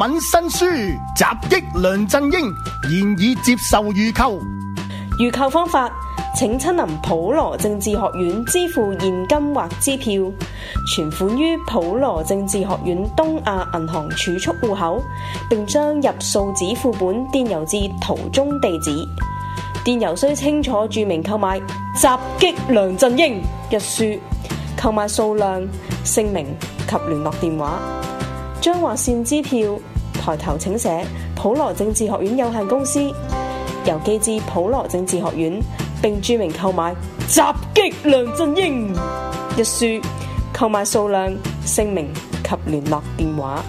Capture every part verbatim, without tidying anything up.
文新書襲擊梁振英，現已接受預購。 預購方法，請親臨普羅政治學院支付現金或支票，存款於普羅政治學院東亞銀行儲蓄戶口，並將入數紙副本電郵至圖中地址。電郵須清楚註明購買襲擊梁振英一書，購買數量、姓名及聯絡電話。將劃線支票抬頭請寫普羅政治學院有限公司，郵寄至普羅政治學院，並註明購買襲擊梁振英一書，購買數量、姓名及聯絡電話。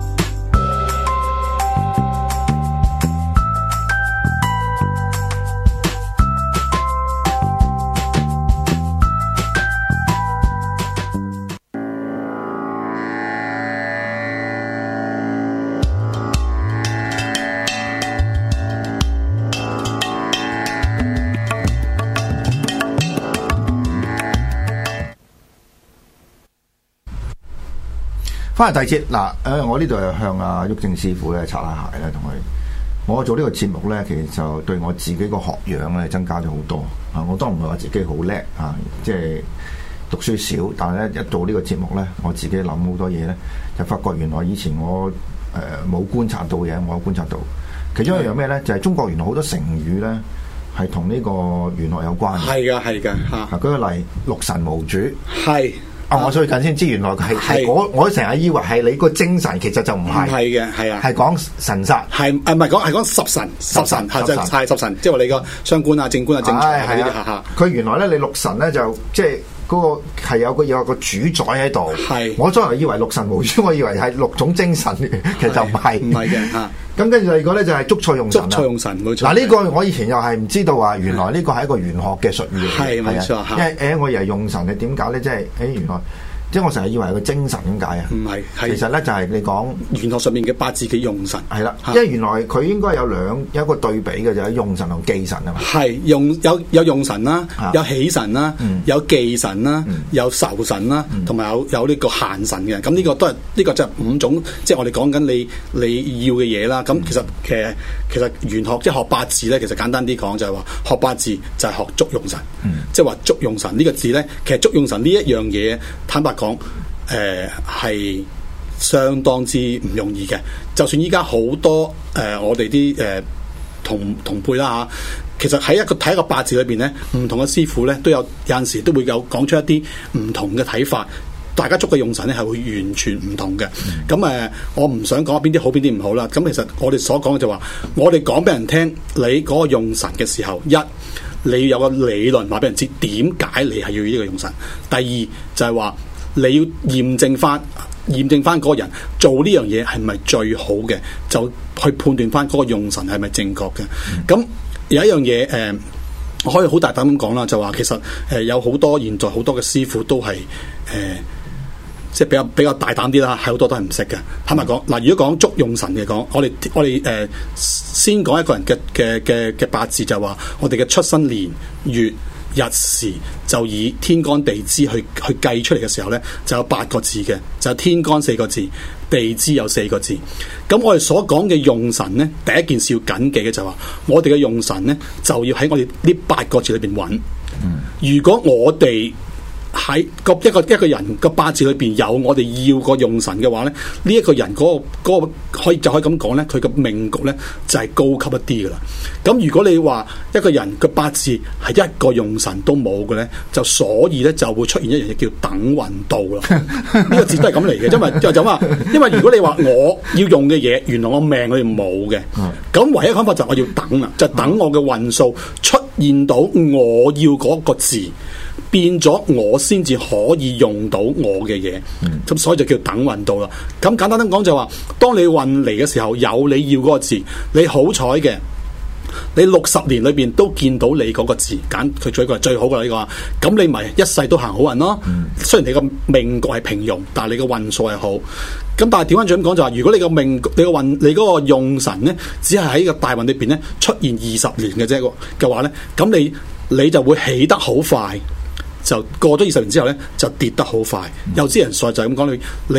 翻嚟第二節嗱，誒，我呢度係向阿毓証師傅咧擦下鞋咧，同佢我做呢個節目咧，其實就對我自己個學養咧增加咗好多啊！我當然唔係話自己好叻啊，即係讀書少，但係咧一做呢個節目咧，我自己諗好多嘢咧，就發覺原來以前我誒冇、呃、觀察到嘅，我有觀察到。其中一樣咩咧，就係、是、中國原來好多成語咧係同呢個玄學有關嘅。 係噶，係噶嚇。舉個例，六神無主。 係。 啊！我最近先知原來係係我我成日以為係你個精神，其實就唔係。 唔係嘅，係啊，係講神煞。 係誒唔係講係講十神，十神係即係係十神，即係話你個傷官啊、正官啊、正財係呢啲嚇嚇。 佢原來咧，你六神咧就即係嗰個係有個有個主宰喺度。係。我初頭以為六神無主，我以為係六種精神，其實就唔係。唔係嘅嚇。咁跟住第二個咧就係捉錯用神。捉錯用神冇錯。嗱呢個我以前又係唔知道話，原來呢個係一個玄學嘅術語。係冇錯。因為誒我以為用神係點解咧？即係誒原來。即係我成日以為係個精神點解啊？唔係，其實咧就係你講玄學上面嘅八字嘅用神係啦，因為原來佢應該有兩有一個對比嘅就係用神同忌神啊嘛。係用有有用神啦，有喜神啦，有忌神啦，有仇神啦，同埋有有呢個限神嘅。咁呢個都係呢個就係五種，即係我哋講緊你你要嘅嘢啦。咁其實其實其實玄學即係學八字咧，其實簡單啲講就係話學八字就係學捉用神，即係話捉用神呢個字咧，其實捉用神呢一樣嘢，坦白講，誒係、呃、相當之唔容易嘅。就算依家好多誒、呃，我哋啲誒同同輩啦嚇，其實喺一個睇一個八字裏邊咧，唔同嘅師傅咧都有有陣時都會有講出一啲唔同嘅睇法。大家捉嘅用神咧係會完全唔同嘅。咁誒、呃，我唔想講邊啲好邊啲唔好啦。咁其實我哋所講嘅就話，我哋講俾人聽，你嗰個用神嘅時候，一你要有個理論話俾人知點解你係要呢個用神。第二就係話，你要驗證翻，驗證翻嗰個人做呢樣嘢係咪最好嘅，就去判斷翻嗰個用神係咪正確嘅。咁、嗯、有一樣嘢，誒、呃，我可以好大膽咁講啦，就話其實誒、呃、有好多現在好多嘅師傅都係誒、呃，即係比較比較大膽啲啦，係好多都係唔識嘅。坦白講，嗱、呃，如果講捉用神嘅講，我哋我哋誒、呃、先講一個人嘅嘅嘅嘅八字，就話我哋嘅出生年月日時就以天干地支去去計出嚟嘅時候呢，就有八個字嘅，就有天干四個字，地支有四個字。咁我哋所講嘅用神呢，第一件事要謹記嘅就係話，我哋嘅用神呢，就要喺我哋呢八個字裏邊揾。嗯、如果我哋喺個一個一個人個八字裏邊有我哋要個用神嘅話咧，呢、這、一個人嗰、那個、那個可以就可以咁講咧，佢嘅命局咧就係、是、高級一啲噶啦。咁如果你話一個人個八字係一個用神都冇嘅咧，就所以咧就會出現一樣嘢叫等運到啦。呢個字都係咁嚟嘅，因為就就話，因為如果你話我要用嘅嘢，原來我命裏面冇嘅，咁唯一嘅方法就係我要等啦，就等我嘅運數出現到我要嗰個字。變咗我先至可以用到我嘅嘢，咁、嗯、所以就叫等運到啦。咁簡單啲講就話，當你運嚟嘅時候有你要嗰個字，你好彩嘅，你六十年裏邊都見到你嗰個字，揀佢做一個係最好嘅呢個，咁你咪一世都行好運咯。嗯、雖然你個命局係平庸，但係你個運數係好。咁但係調翻轉咁講就話，如果你個命你個運你嗰個用神咧，只係喺個大運裏邊咧出現二十年嘅啫嘅話咧，咁你你就會起得好快。就過咗二十年之後咧，就跌得好快。嗯、有啲人所就係咁講，你你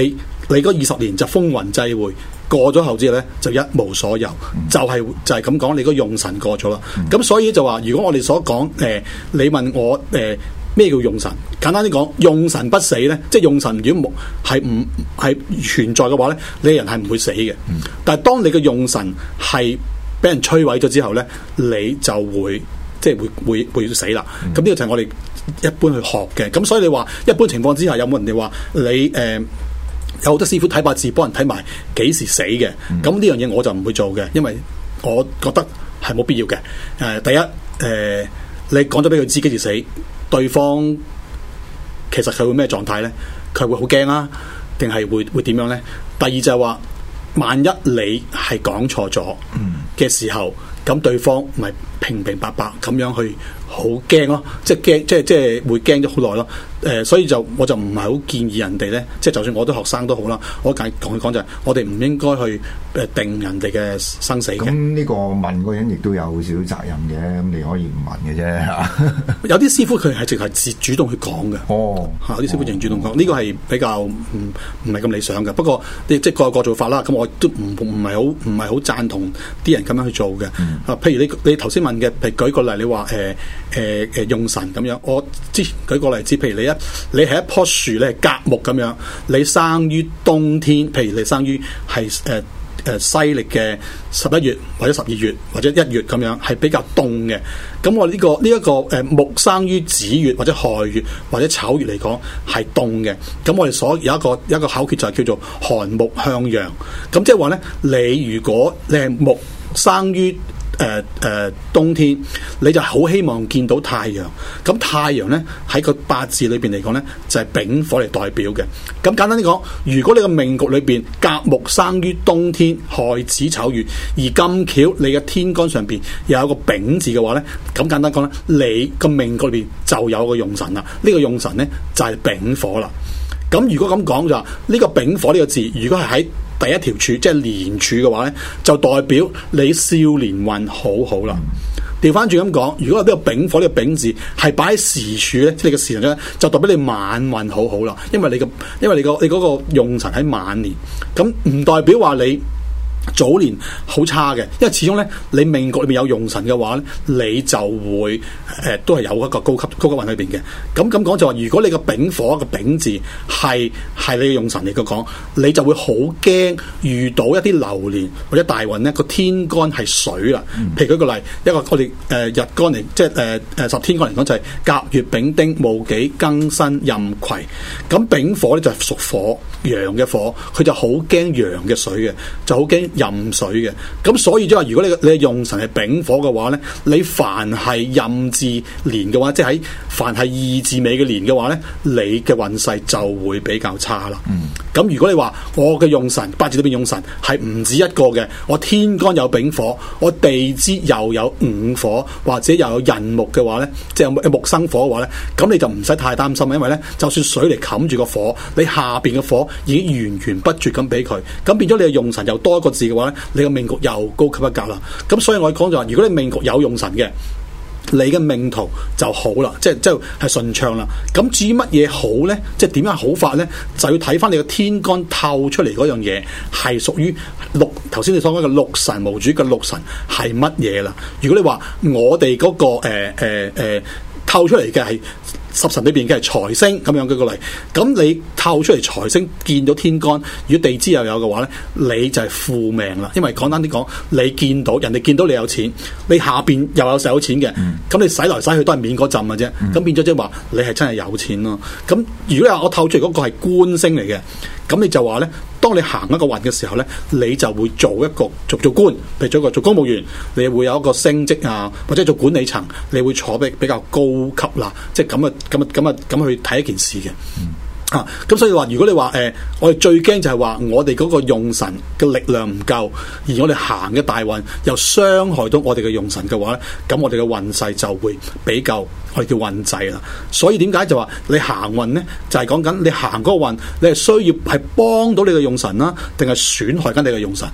你嗰二十年就風雲際會，過咗後之後咧就一無所有，嗯、就係、是、就係咁講，你個用神過咗啦。咁、嗯、所以就話，如果我哋所講誒、呃，你問我誒咩、呃、叫用神？簡單啲講，用神不死咧，即係用神如果冇係唔係存在嘅話咧，你人係唔會死嘅。嗯、但係當你嘅用神係俾人摧毀咗之後咧，你就會即係會會會死啦。咁呢、嗯、個就係我哋一般去學嘅。咁所以你話一般情況之下，有冇人哋話你誒？呃有好多師傅睇八字幫人睇埋幾時死嘅，咁呢樣嘢我就唔會做嘅，因為我覺得係冇必要嘅。誒、呃，第一，誒、呃，你講咗俾佢知幾時死，對方其實佢會咩狀態咧？佢會好驚啦，定係會會點樣咧？第二就係話，萬一你係講錯咗嘅時候，咁對方咪平平白白咁樣去好驚咯，即係驚，即係即係會驚咗好耐咯。誒、呃，所以就我就唔係好建議人哋咧，即係就算我啲學生都好啦，我介講講就係，我哋唔應該去誒定人哋嘅生死嘅。 咁呢個問嗰人亦都有少少責任嘅，咁你可以唔問嘅啫嚇。 有啲師傅佢係直係自主動去講嘅。哦，嚇有啲師傅直主動講，呢、哦、個係比較唔唔係咁理想嘅。不過你即係各有各做法啦。咁我都唔唔係好唔係好贊同啲人咁樣去做嘅。嗯、啊，譬如你你頭先問嘅，譬如舉個例，你話誒誒誒用神咁樣，我之前舉個例子，譬如你一你係一棵樹咧，係甲木咁樣，你生於冬天，譬如你生於係誒誒西歷嘅十一月或者十二月或者一月咁樣，係比較凍嘅。咁我呢、這個呢一、這個誒、呃、木生於子月或者亥月或者丑月嚟講係凍嘅。咁我哋所有一個有一個口訣就係叫做寒木向陽。咁即係話咧，你如果你係木生於誒誒、呃呃，冬天你就好希望見到太陽。咁太陽咧喺個八字裏邊嚟講咧，就係、是、丙火嚟代表嘅。咁簡單啲講，如果你個命局裏邊甲木生於冬天，亥子丑月，而咁巧你嘅天干上邊又有個丙字嘅話咧，咁簡單講咧，你個命局裏邊就有個用神啦。呢、這個用神咧就係、是、丙火啦。咁如果咁講就呢、這個丙火呢個字，如果係喺第一條柱，即係年柱嘅話咧，就代表你少年運好好啦。調翻轉咁講，如果呢個丙火呢、這個丙字係擺喺時柱咧，即係你嘅時辰咧，就代表你晚運好好啦。因為你嘅，因為你個你嗰個用神喺晚年，咁唔代表話你早年好差嘅，因為始終咧你命局裏面有用神嘅話咧，你就會誒、呃、都係有一個高級高級運裏邊嘅。咁咁講就話，如果你個丙火個丙字係係你嘅用神嚟嘅講，你就會好驚遇到一啲流年或者大運咧，個天干係水啦。譬如舉個例，一個我哋誒、呃、日干嚟，即係誒誒十天干嚟講就係甲乙丙丁戊己庚辛壬癸。咁丙火咧就係屬火陽嘅火，佢就好驚陽嘅水嘅，就好驚壬水嘅。咁所以即係話，如果你你嘅用神係丙火嘅話咧，你凡係壬字年嘅話，即係喺凡係二字尾嘅年嘅話咧，你嘅運勢就會比較差啦。咁、嗯、如果你話我嘅用神八字裏邊用神係唔止一個嘅，我天干有丙火，我地支又有午火或者又有寅木嘅話咧，即係有木生火嘅話咧，咁你就唔使太擔心，因為咧就算水嚟冚住個火，你下邊嘅火已經源源不絕咁俾佢，咁變咗你嘅用神又多一個字嘅話咧，你嘅命局又高級一格啦。咁所以我講就話，如果你命局有用神嘅，你嘅命途就好啦，即係即係係順暢啦。咁至於乜嘢好咧，即係點樣好法咧，就要睇翻你個天干透出嚟嗰樣嘢係屬於六，頭先你所講嘅六神無主嘅六神係乜嘢啦。如果你話我哋嗰、嗰個誒誒誒透出嚟嘅係十神裏邊嘅係財星咁樣舉個例，咁你透出嚟財星見到天干，如果地支又有嘅話咧，你就係負命啦。因為簡單啲講，你見到人哋見到你有錢，你下邊又有使有錢嘅，咁、嗯、你使來使去都係免嗰陣嘅啫。咁、嗯、變咗即係話你係真係有錢咯。咁如果你話我透出嚟嗰個係官星嚟嘅，咁你就話咧，當你行一個運嘅時候咧，你就會做一個做做官，譬如做一個做公務員，你會有一個升職啊，或者做管理層，你會坐比比較高級啦，即係咁啊咁啊咁啊咁去睇一件事嘅。嗯啊，咁所以話，如果你話誒、呃，我哋最驚就係話，我哋嗰個用神嘅力量唔夠，而我哋行嘅大運又傷害到我哋嘅用神嘅話咧，咁我哋嘅運勢就會比較我哋叫運滯啦。所以點解就話你行運咧，就係講緊你行嗰個運，你係需要係幫到你嘅用神啦，定係損害緊你嘅用神？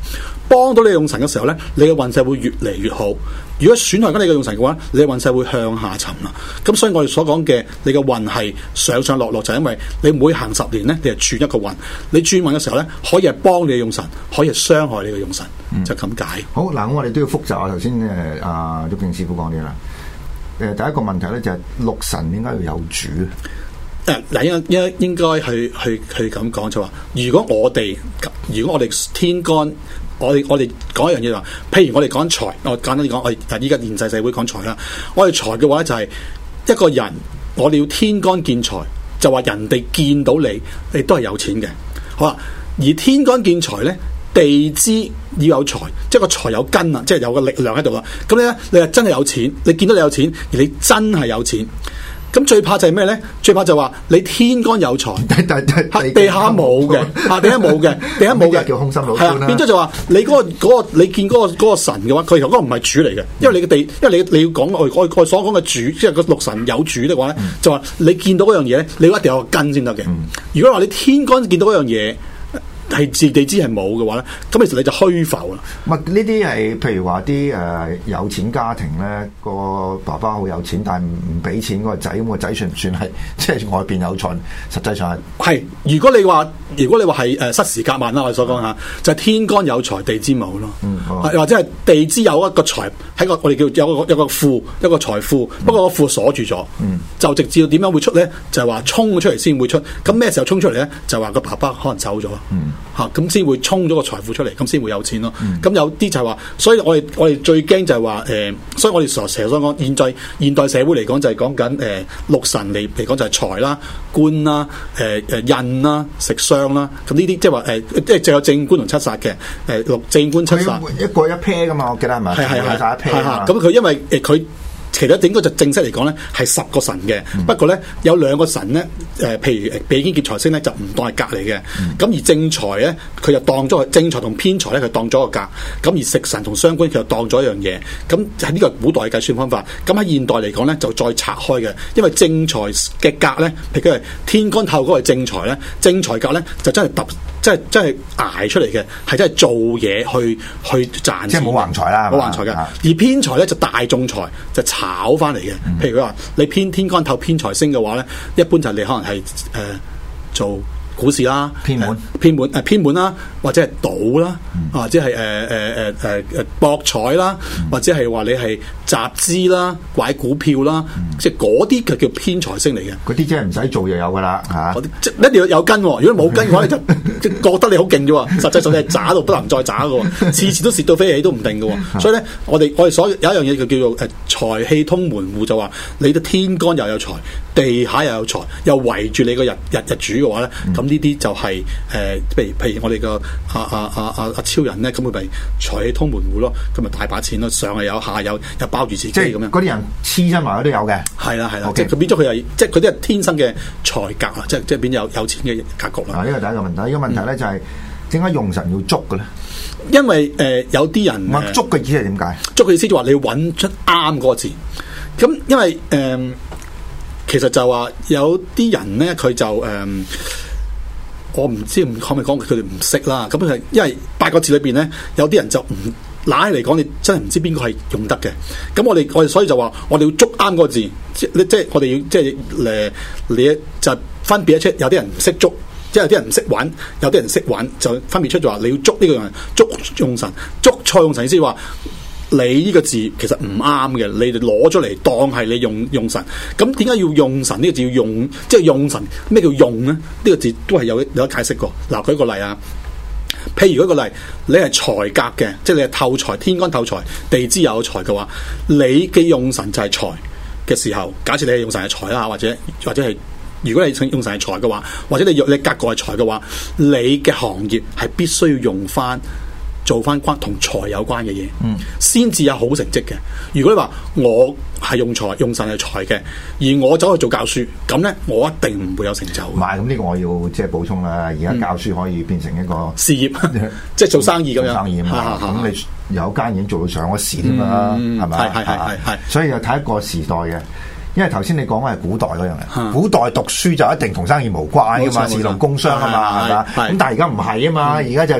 幫到你嘅用神嘅時候咧，你嘅運勢會越嚟越好。如果損害緊你嘅用神嘅話，你嘅運勢會向下沉啦。咁所以我哋所講嘅你嘅運係上上落落，就係因為你每行十年咧，你係轉一個運。你轉運嘅時候咧，可以係幫你嘅用神，可以係傷害你嘅用神，嗯、就咁解。好嗱，咁我哋都要複習下頭先誒阿毓証師傅講啲啦。誒、呃，第一個問題咧就係、是、六神應該要有主。 誒嗱，應應應該去去去咁講就話，如果我哋如果我哋天干，我哋我哋講一樣嘢話，譬如我哋講財，我簡單啲講，我哋依家現世社會講財啦。我哋財嘅話咧就係一個人，我哋要天干見財，就話人哋見到你，你都係有錢嘅。好啦，而天干見財咧，地支要有財，即係個財有根啊，即係有個力量喺度啦。咁咧，你係真係有錢，你見到你有錢，而你真係有錢。咁最怕就係咩咧？最怕就話你天干有財，地下冇嘅，下地下冇嘅，地下冇嘅叫空心老官啦。變咗就話你嗰、嗰個、嗰個你見嗰、嗰個、嗰個神嘅話，佢其實嗰個唔係主嚟嘅，因為你嘅地，因為你你要講我我我所講嘅主，即係個六神有主嘅話咧，嗯、就話你見到嗰樣嘢咧，你一定有個根先得嘅。嗯、如果話你天干見到嗰樣嘢，係自地支係冇嘅話咧，咁其實你就虛浮啦。 唔係呢啲係譬如話啲誒有錢家庭咧，個爸爸好有錢，但係唔唔俾錢嗰個仔，咁個仔算唔算係即係外邊有財？實際上係係。如果你話如果你話係誒失時夾萬啦，我哋所講嚇，嗯、就係天干有財，地支冇咯。嗯，或者係地支有一個財喺個我哋叫有個有個庫一個財庫，嗯、不過個庫鎖住咗。嗯，就直至到點樣會出咧？就係話衝出嚟先會出。咁咩時候衝出嚟咧？就話個爸爸可能走咗。嗯。嚇，咁先會衝咗個財富出嚟，咁先會有錢咯。咁、嗯、有啲就係話，所以我哋我哋最驚就係話誒，所以我哋成日所講現在現代社會嚟講就係講緊誒六神嚟嚟講就係財啦、官啦、誒誒印啦、食傷啦。咁呢啲即係話誒，即係就有正官同七殺嘅誒六正官七殺一個一 pair 噶嘛，我記得係咪？係係係一 pair 啊。 咁佢因為誒佢。其實應該就正式嚟講咧，係十個神嘅。嗯、不過咧有兩個神咧，誒、呃，譬如比肩劫財星咧，就唔當係格嚟嘅。咁、嗯、而正財咧，佢就當咗正財同偏財咧，佢當咗個格。咁而食神同傷官，佢就當咗一樣嘢。咁喺呢個古代嘅計算方法。咁喺現代嚟講咧，就再拆開嘅。因為正財嘅格咧，譬如佢係天干透嗰個係正財咧，正財格咧就真係揼。即係即係捱出嚟嘅，係真係做嘢去去賺錢， 即係冇橫財啦， 冇橫財嘅。而偏財咧就大眾財，就炒翻嚟嘅。嗯、譬如佢話你偏天干透偏財星嘅話咧，一般就你可能係誒、呃、做股市啦， 偏門偏門誒偏門啦，或者係賭啦，嗯、或者係誒誒誒誒誒博彩啦，嗯、或者係話你係集資啦、買股票啦，嗯、即係嗰啲就叫偏財星嚟嘅。 嗰啲即係唔使做又有噶啦嚇， 嗰啲即一定要有根喎。如果冇根嘅話，你就即係覺得你好勁啫喎。實際上你係渣到不能再渣嘅喎，次次都蝕到飛起都唔定嘅喎。所以咧，我哋我哋所有一樣嘢就叫做誒財氣通門戶，就話你嘅天干又有財，地下又有財，又圍住你個日日日主嘅話咧，咁、嗯。呢啲就係、是、誒、呃，譬如譬如我哋個阿阿阿阿阿超人咧，咁佢咪財氣通門戶咯，咁咪大把錢咯，上係有，下有，又包住自己咁樣。 嗰啲人黐身埋都有嘅。係啦係啦，即係佢變咗佢係，即係佢啲係天生嘅財格啊，即係即係變有有錢嘅格局啦。 啊，呢個第一個問題，呢、這個問題咧就係點解用神要捉嘅咧？ 因為誒、呃、有啲人， 唔捉嘅意思係點解？ 捉嘅意思就話你要揾出啱嗰個字。咁因為誒、呃，其實就話有啲人咧，佢就誒。呃我唔知可唔可以講佢哋唔識啦，咁係因為八個字裏邊咧，有啲人就唔拿起嚟講，你真係唔知邊個係用得嘅。咁我哋我哋所以就話，我哋要捉啱個字，即即係我哋要即係誒，你就分別一出，有啲人唔識捉，即係有啲人唔識玩，有啲人識玩，就分別出就話你要捉呢個人，捉用神，捉錯用神意思話。你呢個字其實唔啱嘅，你哋攞咗嚟當係你用用神，咁點解要用神呢個字要用？即係用神咩叫用咧？呢、這個字都係有有得解釋過。嗱，舉個例啊，譬如舉個例，你係財格嘅，即係你係透財，天干透財，地支有財嘅話，你嘅用神就係財嘅時候，假設你係用神係財啦，或者或者係如果你用神係財嘅話，或者你用你格局係財嘅話，你嘅行業係必須要用翻。做翻關同財有關嘅嘢，先至、嗯、有好成績嘅。如果你話我係用財用神係財嘅，而我走去做教書，咁咧我一定唔會有成就。唔係，咁呢個我要即係補充啦。而家教書可以變成一個、嗯、事業，即係做生意咁樣。生意嘛，咁你有間已經做到上咗市添啦，係咪？係係係係。所以又睇一個時代嘅。因為頭先你講嘅係古代嗰樣嘢，古代讀書就一定同生意無關噶嘛，士農工商啊嘛，係嘛？咁但係而家唔係啊嘛，而家就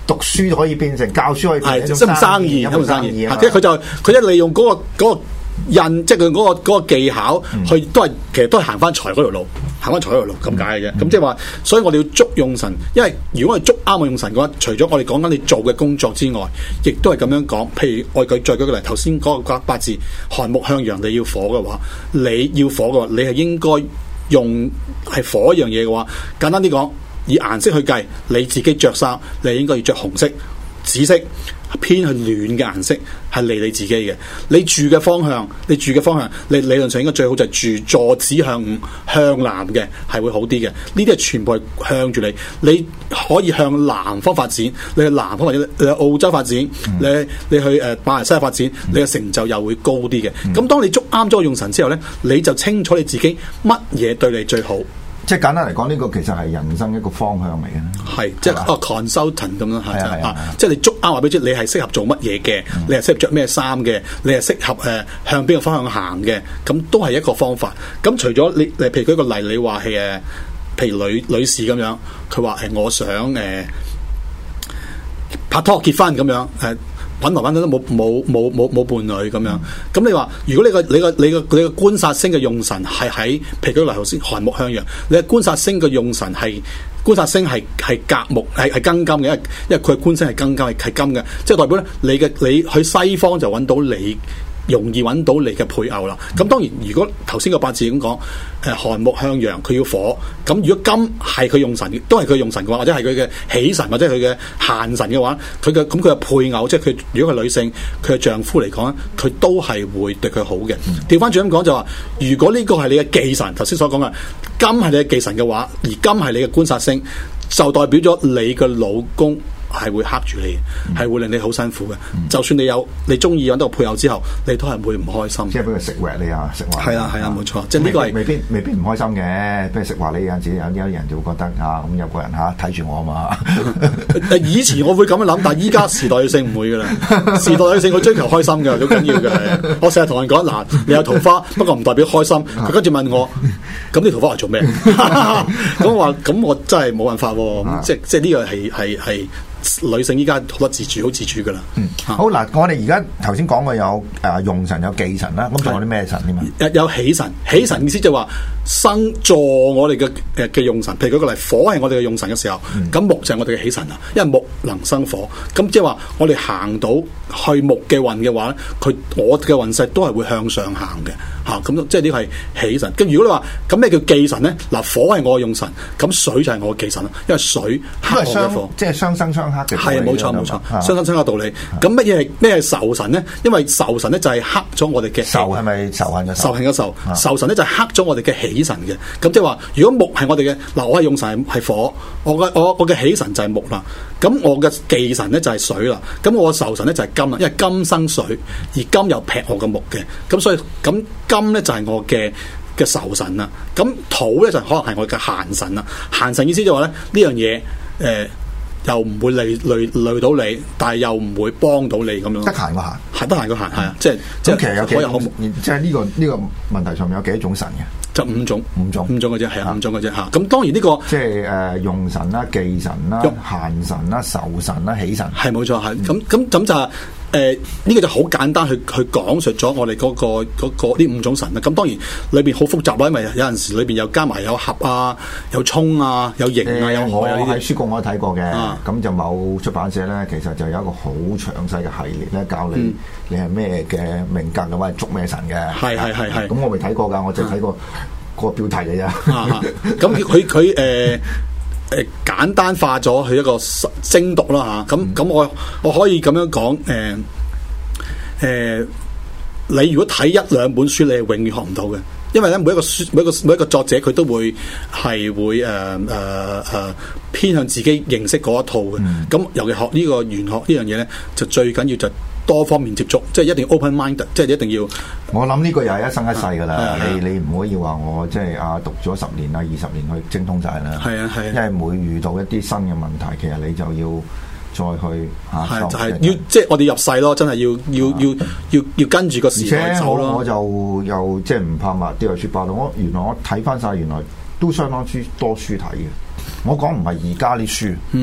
讀書可以變成教書，可以變成一種生意，一種生意。即係佢就佢一利用嗰個嗰個印，即係佢嗰個嗰個技巧，去都係其實都係行翻財嗰條路。行翻財嗰條路咁解嘅啫，咁即係話，所以我哋要捉用神，因為如果我哋捉啱我用神嘅話，除咗我哋講緊你做嘅工作之外，亦都係咁樣講。譬如我舉再舉個例，頭先嗰個八字寒木向陽，你要火嘅話，你要火嘅話，你係應該用係火一樣嘢嘅話，簡單啲講，以顏色去計，你自己着衫，你應該要着紅色、紫色。偏去暖嘅顏色係利你自己嘅，你住嘅方向，你住嘅方向，你理論上應該最好就係住坐子向午向南嘅，係會好啲嘅。呢啲係全部係向住你，你可以向南方發展，你去南方或者你去澳洲發展，嗯、你你去誒馬來西亞發展，你嘅成就又會高啲嘅。咁、嗯、當你捉啱咗個用神之後咧，你就清楚你自己乜嘢對你最好。 即係簡單嚟講，呢、這個其實係人生一個方向嚟嘅。 係，即係啊 consultant 咁啦，係啊，即係你捉啱話俾你知，你係適合做乜嘢嘅，嗯、你係適合着咩衫嘅，你係適合誒、呃、向邊個方向行嘅，咁都係一個方法。咁除咗你，你譬如舉個例，你話係誒，譬如女女士咁樣，佢話誒我想誒、呃、拍拖結婚咁樣誒。呃揾來揾去都冇冇冇冇冇伴侶咁樣，咁、嗯、你話如果你個你個你個你個觀察星嘅用神係喺，譬如舉例頭先寒木向陽，你嘅觀察星嘅用神係觀察星係係甲木係係庚金嘅，因為因為佢嘅觀星係庚金係係金嘅，即係代表咧你嘅你去西方就揾到你容易揾到你嘅配偶啦。咁當然如果頭先個八字咁講，誒寒木向陽佢要火，咁如果金係佢用神，都係佢用神嘅話，或者係佢嘅喜神或者係佢嘅限神嘅話，佢嘅咁佢嘅配偶，即係佢如果係女性，佢嘅丈夫嚟講咧，佢都係會對佢好嘅。調翻轉咁講就話，如果呢個係你嘅忌神，頭先所講嘅金係你嘅忌神嘅話，而金係你嘅觀察星，就代表咗你嘅老公係會克住你，係、嗯、會令你好辛苦嘅。嗯、就算你有你中意揾到個配偶之後，你都係會唔開心。 即係俾佢食壞你啊，食壞。係啊係啊，冇錯。即係呢個係未必未必唔開心嘅。俾佢食壞你有陣時，有啲人就會覺得啊，咁有個人嚇睇住我啊嘛。 以前我會咁樣諗，但係依家時代女性唔會噶啦。時代女性佢追求開心嘅，好緊要嘅。我成日同人講嗱，你有桃花，不過唔代表開心。佢跟住問我，咁啲桃花嚟做咩？咁我話咁我真係冇辦法喎。即即係呢個係係係。女性依家好多自主，好自主噶啦。 嗯，好嗱，我哋而家頭先講過有誒、呃、用神有忌神啦，咁仲有啲咩神添啊？ 有喜神，喜神意思就話生助我哋嘅誒嘅用神。譬如舉個例，火係我哋嘅用神嘅時候，咁、嗯、木就係我哋嘅喜神啊。因為木能生火，咁即係話我哋行到去木嘅運嘅話咧，佢我嘅運勢都係會向上行嘅。嚇、啊，咁即係呢個係喜神。咁如果你話咁咩叫忌神咧？嗱，火係我嘅用神，咁水就係我嘅忌神啦。因為水克我嘅火， 即係雙生雙。 係啊，冇錯冇錯，相生相克道理。咁乜嘢係咩係仇神咧？因為仇神咧就係克咗我哋嘅仇，係咪仇恨嘅仇恨嘅仇？仇神咧就係克咗我哋嘅喜神嘅。咁即係話，如果木係我哋嘅嗱，我係用神係火，我嘅我我嘅喜神就係木啦。咁我嘅忌神咧就係水啦。咁我嘅仇神咧就係金啦，因為金生水，而金又劈我嘅木嘅。咁所以咁金咧就係我嘅嘅仇神啦。咁土咧就可能係我嘅限神啦。限神意思就話咧呢樣嘢誒。呃又唔會累累累到你，但係又唔會幫到你咁樣。 得閒個閒， 係得閒個閒，係啊，即係即係。 其實有幾種，即係呢個呢個問題上面有幾多種神嘅？ 就五種， 五種， 五種嘅啫，係啊，五種嘅啫嚇。咁當然呢個即係誒用神啦、忌神啦、限神啦、仇神啦、喜神， 係冇錯，係咁咁咁就係誒呢個就好簡單去去講述咗我哋嗰個嗰個呢五種神啦。咁當然裏邊好複雜啦，因為有陣時裏邊又加埋有合啊、有衝啊、有刑啊、有害啊呢啲。 喺書局我都睇過嘅，咁就某出版社咧，其實就有一個好詳細嘅系列咧，教你你係咩嘅命格嘅話，捉咩神嘅。係係係係。咁我未睇過㗎，我就睇過個標題嘅啫。 咁佢佢誒誒簡單化咗佢一個精讀啦嚇。咁咁我我可以咁樣講誒誒，你如果睇一兩本書，你係永遠學唔到嘅。因為咧，每一個書，每一個每一個作者，佢都會係會誒誒誒偏向自己認識嗰一套嘅。咁、嗯、尤其學呢個玄學呢樣嘢咧，就最緊要就多方面接觸，即係一定要 open mind，即係一定要。 我諗呢個又係一生一世㗎啦。啊、你你唔可以話我即係啊讀咗十年啊二十年去精通晒啦。係啊係啊。因為每遇到一啲新嘅問題，其實你就要再去嚇， 係就係要即係我哋入世咯，真係要要要要要跟住個時代走咯。 我就又即係唔怕話啲書包咯。我原來我睇翻晒，原來都相當之多書睇嘅。我講唔係而家啲書，嗯，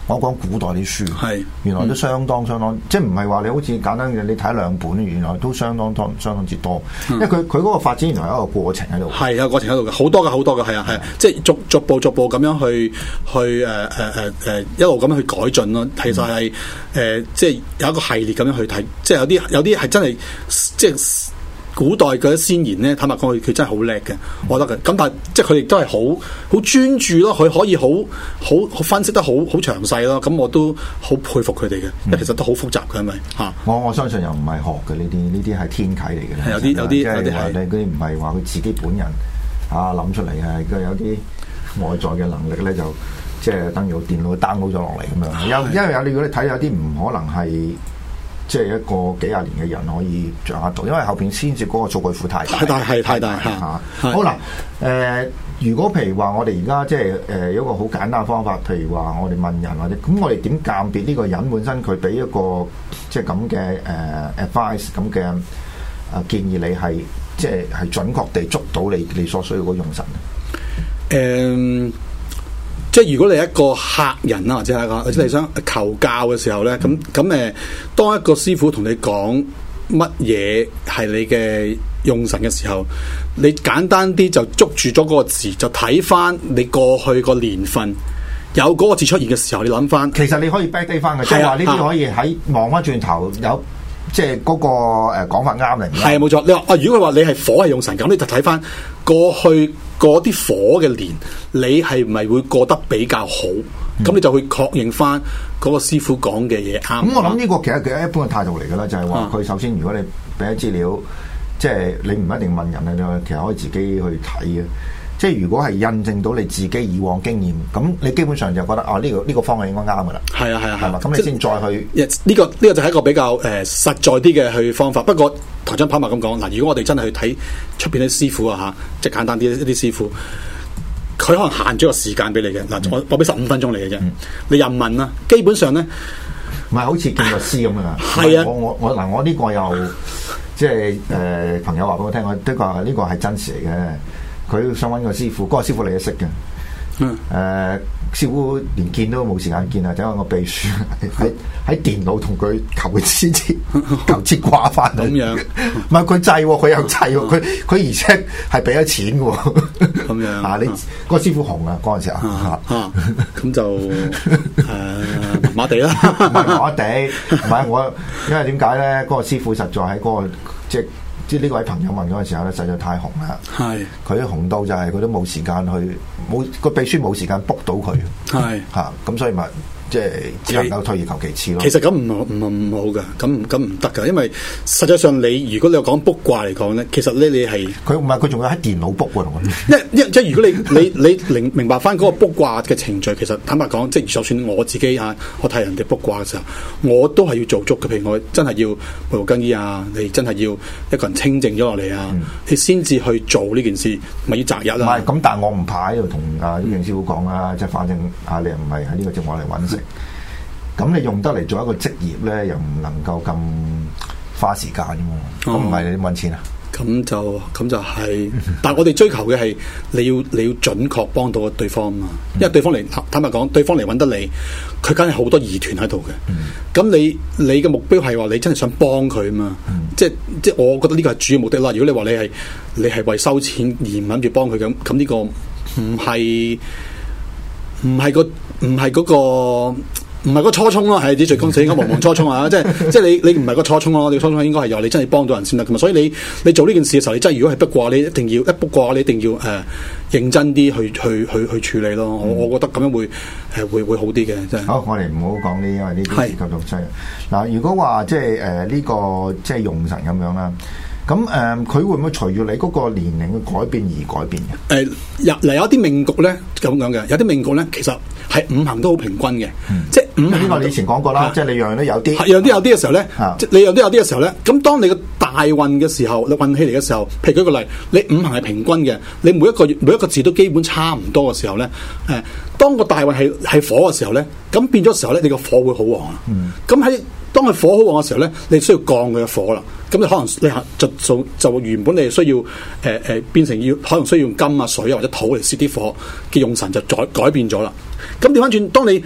我講古代啲書， 係原來都相當相當，即係唔係話你好似簡單嘅你睇兩本，原來都相當多相當之多，因為佢佢嗰個發展原來有一個過程喺度。 係有過程喺度嘅，好多嘅好多嘅，係啊係啊，即係逐逐步逐步咁樣去去誒誒誒誒一路咁樣去改進咯。其實係誒、呃、即係有一個系列咁樣去睇，即係有啲有啲係真係即係。古代嗰啲先賢咧，坦白講，佢佢真係好叻嘅，我覺得嘅。咁但係即係佢亦都係好好專注咯，佢可以好好好分析得好好詳細咯。咁我都好佩服佢哋嘅，因為其實都好複雜嘅，係咪嚇？我我相信又唔係學嘅呢啲，呢啲係天啟嚟嘅。 係有啲有啲有啲係嗰啲唔係話佢自己本人啊諗出嚟嘅，佢有啲外在嘅能力咧，就即係等於個電腦 download 咗落嚟咁樣。有因為有你如果你睇有啲唔可能係。即係一個幾廿年嘅人可以掌握到，因為後邊先至嗰個數據庫太大， 太大係太大嚇。 好啦，誒、呃，如果譬如話我哋而家即係誒有一個好簡單嘅方法，譬如話我哋問人或者咁，我哋點鑑別呢個人本身佢俾一個即係咁嘅誒 advice 咁嘅誒建議，你係即係係準確地捉到你你所需要嗰用神咧？誒、 嗯。即係如果你係一個客人啊，或者係一個或者你想求教嘅時候咧，咁咁誒，當一個師傅同你講乜嘢係你嘅用神嘅時候，你簡單啲就捉住咗嗰個字，就睇翻你過去個年份有嗰個字出現嘅時候，你諗翻。 其實你可以 back day 翻嘅，即係話呢啲可以喺望翻轉頭有。即係嗰個誒講法啱嚟， 係啊冇錯。你話啊，如果佢話你係火係用神咁，你就睇翻過去嗰啲火嘅年，你係唔係會過得比較好？咁、嗯、你就會確認翻嗰個師傅講嘅嘢啱。咁、嗯、 我諗呢個其實其實一般嘅態度嚟㗎啦，就係話佢首先如果你俾咗資料，即係你唔一定問人啊，你其實可以自己去睇嘅。即係如果係印證到你自己以往經驗，咁你基本上就覺得啊呢、呢個呢、呢個方向應該啱噶啦。係啊係啊係嘛，咁你先再去。呢、 呢個呢、呢個就係一個比較誒、呃、實在啲嘅去方法。不過台長跑馬咁講嗱，如果我哋真係去睇出邊啲師傅啊嚇，即係簡單啲一啲師傅，佢可能限咗個時間俾你嘅嗱、嗯，我我俾十五分鐘你嘅啫，嗯、你任問啦。基本上咧， 唔係好似見律師咁啊。 係啊， 我我我嗱，我呢個又即係誒、呃、朋友話俾我聽，我的確呢個係真實嚟嘅。佢想揾個師傅，嗰、嗰個師傅你都識嘅。嗯。誒、呃，師傅連見都冇時間見啊！就因為我秘書喺喺電腦同佢求佢支持，求支掛翻嚟。咁樣。唔係佢制喎，佢又制喎，佢佢而且係俾咗錢嘅喎。咁樣。啊！你嗰、嗰個師傅紅啊，嗰陣時候。啊啊！ 咁就誒麻麻地啦。 唔係麻麻地，唔係我，因為點解咧？嗰、嗰個師傅實在喺嗰、嗰個即係。即係呢位朋友問嗰陣時候咧，實在太紅啦。係佢紅到就係佢都冇時間去，冇個秘書冇時間 book 到佢。係嚇，咁所以咪即係只能夠退而求其次咯。 其實咁唔唔唔好㗎，咁咁唔得㗎，因為實際上你如果你講卜卦嚟講咧，其實咧你係佢唔係佢仲要喺電腦卜喎同我。因因即係如果你你你明明白翻嗰個卜卦嘅程序，其實坦白講，即係就算我自己嚇，我睇人哋卜卦嘅時候，我都係要做足嘅。譬如我真係要培護更衣啊，你真係要一個人清靜咗落嚟啊，嗯、你先至去做呢件事，咪要擇日啦。唔係咁，但係我唔怕喺度同啊呢樣師傅講啊，即係反正啊你又唔係喺呢個節目嚟揾食。咁你用得嚟做一個職業咧，又唔能夠咁花時間嘅嘛？咁唔係你揾錢啊？ 咁就咁就係、是，但係我哋追求嘅係你要你要準確幫到對方啊嘛，因為對方嚟坦白講，對方嚟揾得你，佢梗係好多疑團喺度嘅。咁、嗯、你你嘅目標係話你真係想幫佢啊嘛？嗯、即係即係我覺得呢個係主要目的啦。如果你話你係你係為收錢而唔諗住幫佢咁，咁呢個唔係唔係個唔係嗰個。唔係個初衷咯，係啲最公司應該無忘初衷啊！即係即係你你唔係個初衷咯，你初衷應該係由你真係幫到人先得噶嘛。所以你你做呢件事嘅時候，你真係如果係卜卦，你一定要一卜卦，你一定要誒、呃、認真啲去去去去處理咯。嗯、我我覺得咁樣會誒、呃、會會好啲嘅。真係好， 我哋唔好講呢，因為呢啲涉及到西。嗱，如果話即係誒呢個即係用神咁樣啦。咁誒，佢、嗯、會唔會隨住你嗰個年齡嘅改變而改變嘅？誒、 呃，有嗱有啲命局咧咁樣嘅，有啲命局咧其實係五行都好平均嘅，嗯、即係五行。呢個你以前講過啦，啊、即係你樣樣都有啲， 樣啲有啲嘅時候咧，啊、即係你樣都有啲嘅時候咧，咁當你個大運嘅時候，你運氣嚟嘅時候，譬如舉個例，你五行係平均嘅，你每一個每一個字都基本差唔多嘅時候咧，誒、呃，當個大運係係火嘅時候咧，咁變咗時候咧，你個火會好旺啊。咁喺、嗯當佢火好旺嘅時候咧，你需要降佢嘅火啦。咁你可能你就就就原本你需要誒誒、呃、變成要可能需要用金啊水啊或者土嚟泄啲火嘅用神就改改變咗啦。咁調翻轉，當你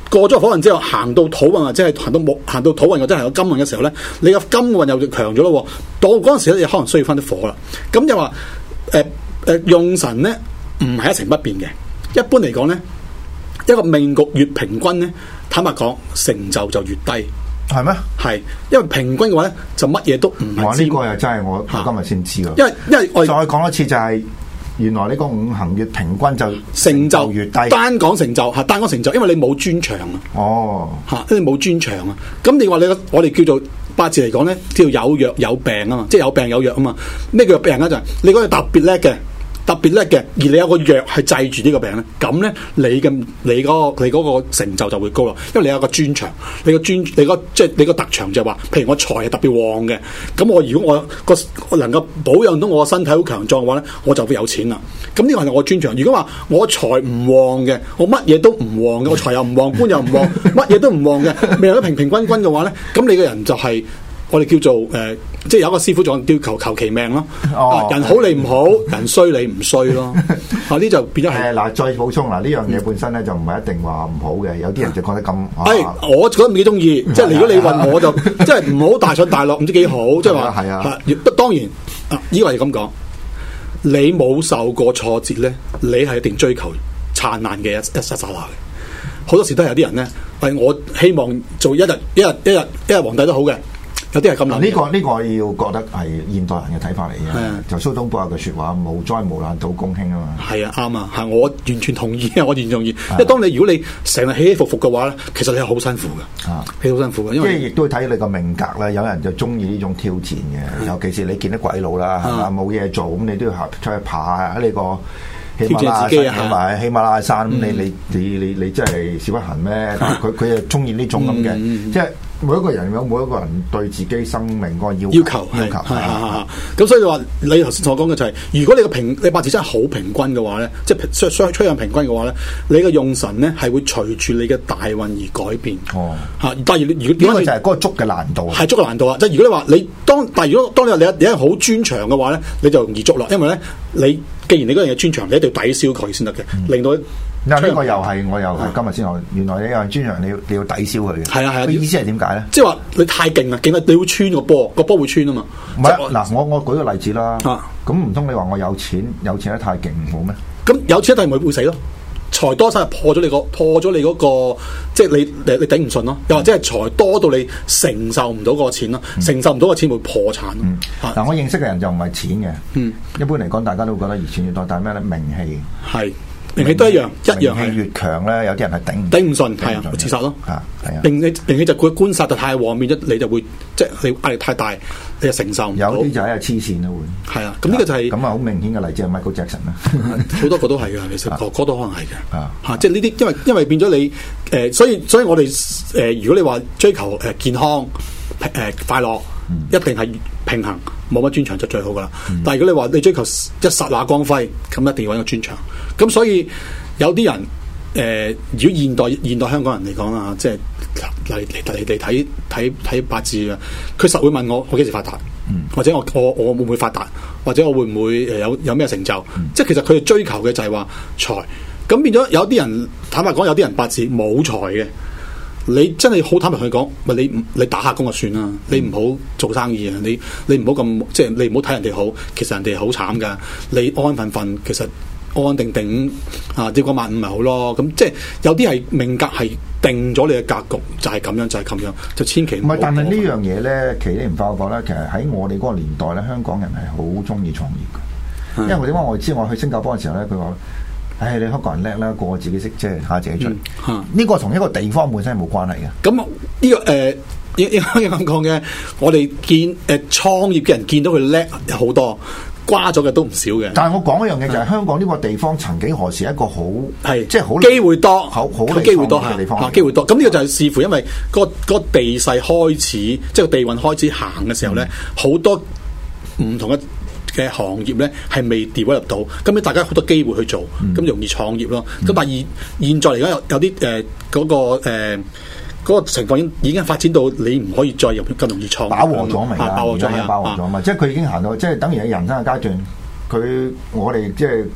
過咗火運之後，行到土運或者係行到木行到土運或者行到金運嘅時候咧，你個金運又強咗咯。到嗰陣時咧，你可能需要翻啲火啦。咁就話誒誒用神咧，唔係一成不變嘅。一般嚟講咧，一個命局越平均咧，坦白講成就就越低。 係咩？ 係，因為平均嘅話咧，就乜嘢都唔係。 哇！呢個又真係我我今日先知喎。 因為因為我再講一次就係、是。原來呢個五行越平均就成就越低， 單講成就嚇，單講成就，因為你冇專長啊。 哦， 嚇，因為冇專長啊。咁你話你個我哋叫做八字嚟講咧，叫有藥有病啊嘛，即係有病有藥啊嘛。咩叫病咧？就係你嗰個特別叻嘅。特別叻嘅，而你有個藥係制住呢個病咧，咁咧你嘅你嗰個你嗰個成就就會高咯，因為你有個專長，你個專你個即係你個特長就係話，譬如我財係特別旺嘅，咁我如果我個我能夠保養到我個身體好強壯嘅話咧，我就會有錢啦。咁呢個係我專長。如果話我財唔旺嘅，我乜嘢都唔旺嘅，我財又唔旺，官又唔旺，乜嘢都唔旺嘅，未有平平均均嘅話咧，咁你個人就係、是。我哋叫做誒、呃，即係有一個師傅講叫求求其命咯。哦，人好你唔好，人衰你唔衰咯。啊，呢就變咗係。誒嗱， 再補充嗱，呢樣嘢本身咧就唔係一定話唔好嘅，有啲人就覺得咁。 係、啊，我覺得唔幾中意。即係如果你問我就，即係唔好大上大落，唔知幾好。即係話係啊。當然，啊，呢個係咁講，你冇受過挫折咧，你係一定追求燦爛嘅一一剎剎那嘅。好多時都係有啲人咧，係我希望做一日一日一日一日皇帝都好嘅。有啲係咁諗， 呢個呢、這個要覺得係現代人嘅睇法嚟嘅。 啊、 就蘇東坡有句説話：無災無難禱公興啊嘛。係啊，啱啊，係我完全同意啊，我完全同意。因為當你如果你成日起起伏伏嘅話咧，其實你係好辛苦嘅。啊，你好辛苦嘅，因為即係亦都睇你個命格啦。有人就中意呢種挑戰嘅，啊、尤其是你見得鬼佬啦，係嘛，冇嘢做咁，你都要出去爬喺呢個喜馬拉雅山同埋喜馬拉雅山咁，你你你你你真係少不行咩？佢佢又中意呢種咁嘅，嗯、即係。每一個人有每一個人對自己生命嗰個要要求要求，咁所以話你頭先所講嘅就係、是，如果你個平你八字真係好平均嘅話咧，即係相相趨向平均嘅話咧，你嘅用神咧係會隨住你嘅大運而改變。哦，嚇！但係如果點解就係嗰個捉嘅難度？ 係捉嘅難度啊！即係如果你話你當，但係如果當你話你你係好專長嘅話咧，你就容易捉落，因為咧你既然你嗰樣嘢專長，你一定要抵消佢先得嘅，嗯、令到。 嗱，呢個又係我又係今日先學，原來你有專長，你要你要抵消佢嘅。係啊係啊，意思係點解咧？ 即係話你太勁啦，勁到你會穿個波，個波會穿啊嘛。 唔係嗱，我我舉個例子啦。咁唔通你話我有錢，有錢得太勁唔好咩？ 咁有錢一定咪會死咯？財多晒破咗你個破咗你嗰個，即係你你你頂唔順咯。又或者係財多到你承受唔到個錢咯，承受唔到個錢會破產。 嗱，我認識嘅人就唔係錢嘅。嗯，一般嚟講，大家都會覺得越錢越多，但係咩咧？名氣係。 名氣都一樣，一樣係越強咧，有啲人係頂頂唔順，係啊，自殺咯。啊，係啊。名氣名氣就佢官殺就太旺，變咗你就會即係你壓力太大，你就承受唔到。 有啲就係黐線啦，會。 係啊，咁呢個就係咁啊，好明顯嘅例子係 Michael Jackson 啦。 好多個都係嘅，其實個個都可能係嘅。啊，嚇，即係呢啲，因為因為變咗你誒，所以所以我哋誒，如果你話追求誒健康誒快樂，一定係平衡。冇乜專長就最好噶啦，嗯、但係如果你話你追求一剎那光輝，咁一定要揾個專長。咁所以有啲人誒、呃，如果現代現代香港人嚟講啦，即係嚟嚟嚟嚟睇睇睇八字啊，佢實會問我我幾時發達，嗯、或者我我我會唔會發達，或者我會唔會誒有有咩成就？嗯、即係其實佢哋追求嘅就係話財。咁變咗有啲人坦白講，有啲人八字冇財嘅。你真係好坦白同佢講，咪你唔你打下工就算啦，你唔好做生意啊！你你唔好咁即係你唔好睇人哋好，其實人哋好慘噶。你安安分分，其實安安定定啊，跌個萬五咪好咯。咁即係有啲係命格係定咗你嘅格局，就係、是、咁樣，就係、是、咁樣，就千祈唔好。唔係，但係呢樣嘢咧，其實你唔發覺咧，其實喺我哋嗰個年代咧，香港人係好中意創業嘅。因為點解我知我去新加坡嘅時候咧，佢話。唉、哎，你香港人叻啦，個個自己識，即係下自己出。呢、嗯、個同一個地方本身係冇關係嘅。咁呢、這個誒，應應該咁講嘅，我哋見誒、呃、創業嘅人見到佢叻有好多，瓜咗嘅都唔少嘅。但係我講一樣嘢就係、是、香港呢個地方曾幾何時一個好係即係好機會多，好好機會多嘅地方，機會多。咁呢個就係視乎因為嗰、那個那個地勢開始，即係個地運開始行嘅時候咧，好、嗯、多唔同嘅。嘅行業咧係未 develop 到，咁咧大家好多機會去做，咁、嗯、容易創業咯。咁、嗯、但係現在嚟講有有啲誒嗰個誒嗰、呃嗰個情況已經已經發展到你唔可以再入咁容易創業，飽和咗咪啊？飽和咗啊！飽和咗嘛，即係佢已經行到，即係等於喺人生嘅階段，佢我哋即係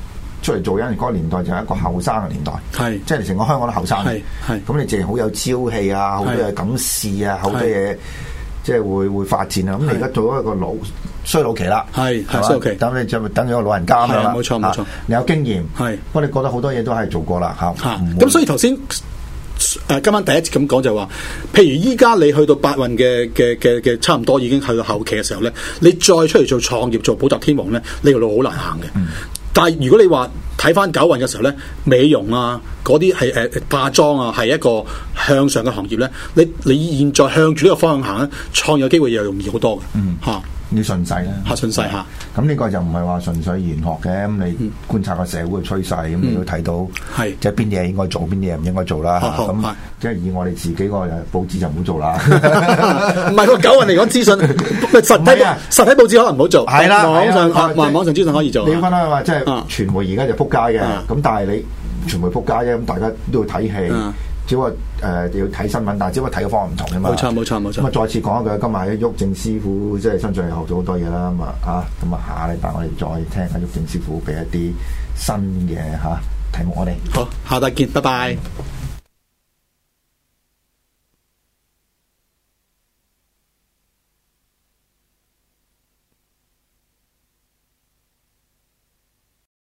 出嚟做嗰陣嗰個年代就係一個後生嘅年代， 係即係成個香港都後生， 係係咁你淨係好有朝氣啊，好多嘢敢試啊，好多嘢即係會會發展啊。咁你而家做咗一個老衰老期啦， 係係衰老期， 等你就等咗個老人家咁樣啦， 冇錯冇錯， 你有經驗， 係， 不過你覺得好多嘢都係做過啦嚇， 咁所以頭先。誒今晚第一節咁講就話，譬如依家你去到八運嘅嘅嘅嘅差唔多已經去到後期嘅時候咧，你再出嚟做創業做補習天王咧，呢條路好難行嘅。嗯、但係如果你話睇翻九運嘅時候咧，美容啊嗰啲係誒化妝啊係一個向上嘅行業咧，你你現在向住呢個方向行咧，創業機會又容易好多嘅。嗯，嚇。要順勢啦， 嚇順勢嚇。 咁呢個就唔係話純粹玄學嘅，咁你觀察個社會嘅趨勢，咁你都睇到，係即係邊啲嘢應該做，邊啲嘢唔應該做啦。咁即係以我哋自己個報紙就唔好做啦。 唔係個九運嚟講資訊，實體實體報紙可能唔好做。係啦，網上網網上資訊可以做。 你分開話即係傳媒而家就撲街嘅，咁但係你傳媒撲街啫，咁大家都要睇戲。只不過誒、呃、要睇新聞，但係只不過睇嘅方法唔同啫嘛。冇錯冇錯冇錯。咁啊，再次講一句，今日喺毓証師傅即係身上又學咗好多嘢啦。咁啊啊，咁啊下禮拜我哋再聽下毓証師傅俾一啲新嘅嚇題目我哋。好，下集見，拜拜。